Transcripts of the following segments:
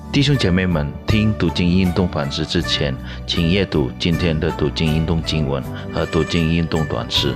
弟兄姐妹们，听读经运动反思之前，请阅读今天的读经运动经文和读经运动短诗。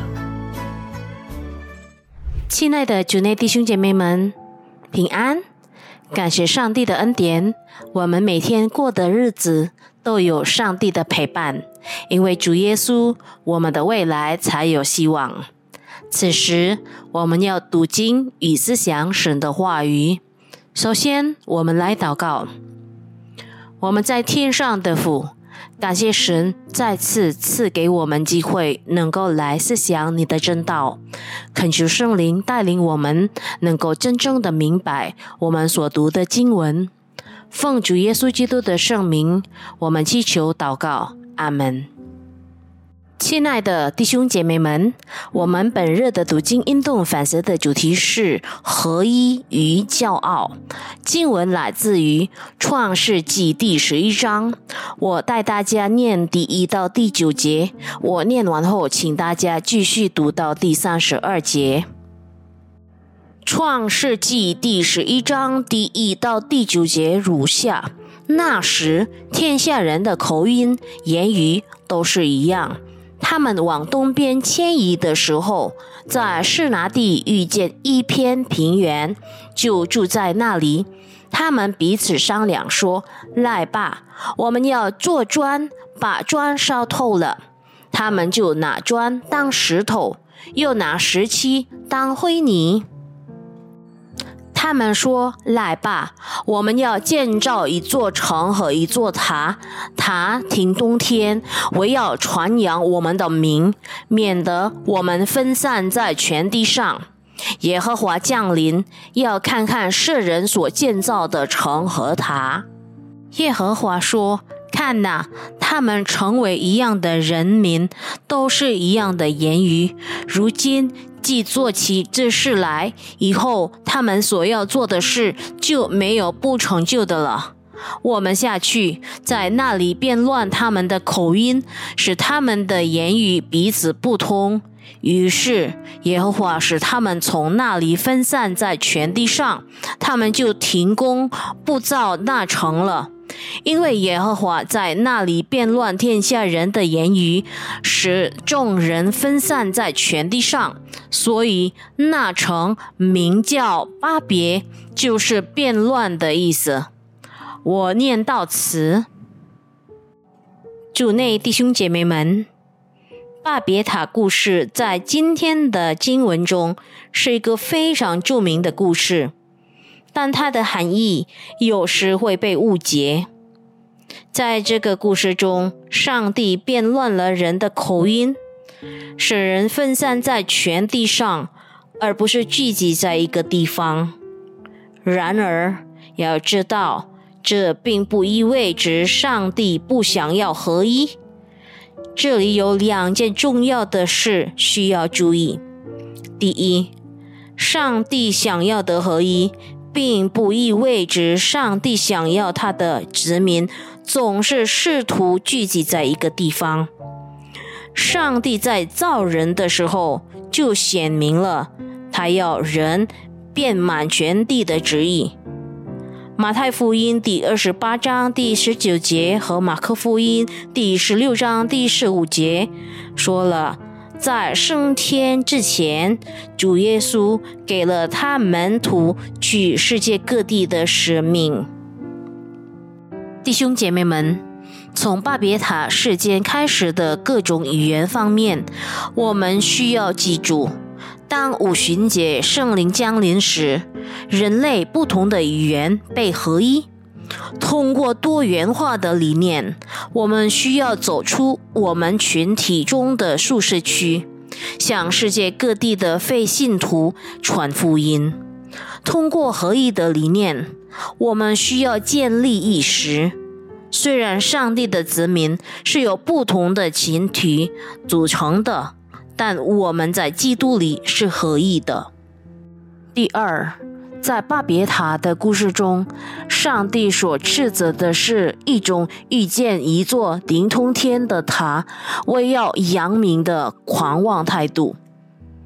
亲爱的主内弟兄姐妹们，平安！感谢上帝的恩典，我们每天过的日子都有上帝的陪伴，因为主耶稣，我们的未来才有希望。此时，我们要读经与思想神的话语。首先，我们来祷告。我们在天上的父，感谢神再次赐给我们机会，能够来思想你的真道，恳求圣灵带领我们，能够真正的明白我们所读的经文。奉主耶稣基督的圣名，我们祈求祷告，阿们。亲爱的弟兄姐妹们，我们本日的读经运动反思的主题是合一与骄傲。经文来自于创世纪第11章，我带大家念第1到第9节，我念完后请大家继续读到第32节。创世纪第11章第1到第9节如下：那时天下人的口音言语都是一样，他们往东边迁移的时候，在示拿地遇见一片平原，就住在那里。他们彼此商量说：来吧，我们要做砖，把砖烧透了。他们就拿砖当石头，又拿石漆当灰泥。他们说：来吧，我们要建造一座城和一座塔，塔挺东天，为要传扬我们的名，免得我们分散在全地上。耶和华降临，要看看世人所建造的城和塔。耶和华说：看哪，他们成为一样的人民，都是一样的言语。如今既做起这事来，以后他们所要做的事就没有不成就的了。我们下去，在那里变乱他们的口音，使他们的言语彼此不通。于是耶和华使他们从那里分散在全地上，他们就停工不造那城了。因为耶和华在那里变乱天下人的言语，使众人分散在全地上，所以那城名叫巴别，就是变乱的意思。我念到此。主内弟兄姐妹们，巴别塔故事在今天的经文中是一个非常著名的故事，但它的含义有时会被误解。在这个故事中，上帝变乱了人的口音，使人分散在全地上，而不是聚集在一个地方。然而，要知道，这并不意味着上帝不想要合一。这里有2件重要的事需要注意。第一，上帝想要的合一，并不意味着上帝想要他的子民总是试图聚集在一个地方。上帝在造人的时候就显明了他要人遍满全地的旨意。马太福音第28章第19节和马可福音第16章第15节说了，在升天之前，主耶稣给了他门徒去世界各地的使命。弟兄姐妹们，从巴别塔事件开始的各种语言方面，我们需要记住，当五旬节圣灵降临时，人类不同的语言被合一。通过多元化的理念，我们需要走出我们群体中的舒适区，向世界各地的非信徒传福音。通过合一的理念，我们需要建立意识。虽然上帝的子民是由不同的群体组成的，但我们在基督里是合一的。第二，在巴别塔的故事中，上帝所斥责的是一种遇见一座顶通天的塔，为要扬名的狂妄态度。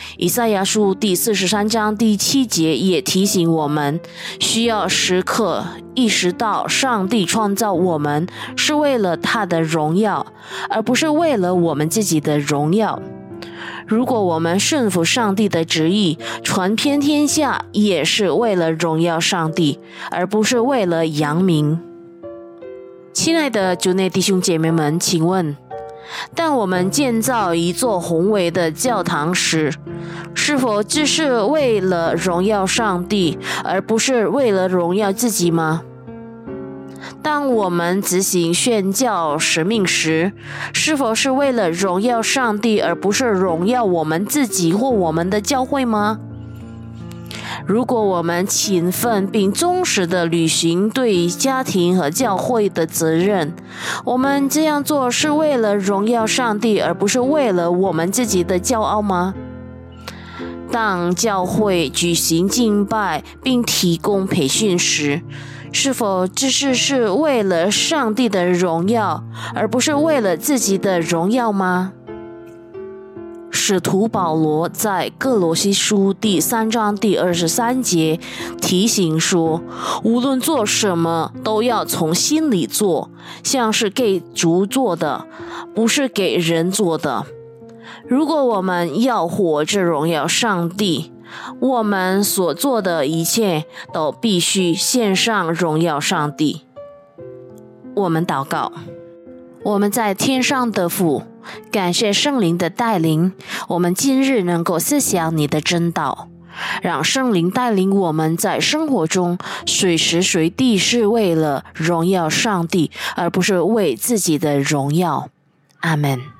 以赛亚书第43章第7节也提醒我们，需要时刻意识到上帝创造我们是为了他的荣耀，而不是为了我们自己的荣耀。如果我们顺服上帝的旨意，传遍天下，也是为了荣耀上帝，而不是为了扬名。亲爱的主内弟兄姐妹们，请问，当我们建造一座宏伟的教堂时，是否只是为了荣耀上帝，而不是为了荣耀自己吗？当我们执行宣教使命时，是否是为了荣耀上帝，而不是荣耀我们自己或我们的教会吗？如果我们勤奋并忠实地履行对家庭和教会的责任，我们这样做是为了荣耀上帝，而不是为了我们自己的骄傲吗？当教会举行敬拜并提供培训时，是否只是为了上帝的荣耀，而不是为了自己的荣耀吗？使徒保罗在哥罗西书第3章第23节提醒说，无论做什么都要从心里做，像是给主做的，不是给人做的。如果我们要活着荣耀上帝，我们所做的一切都必须献上荣耀上帝。我们祷告。我们在天上的父，感谢圣灵的带领，我们今日能够思想你的真道，让圣灵带领我们在生活中随时随地是为了荣耀上帝，而不是为自己的荣耀。阿们。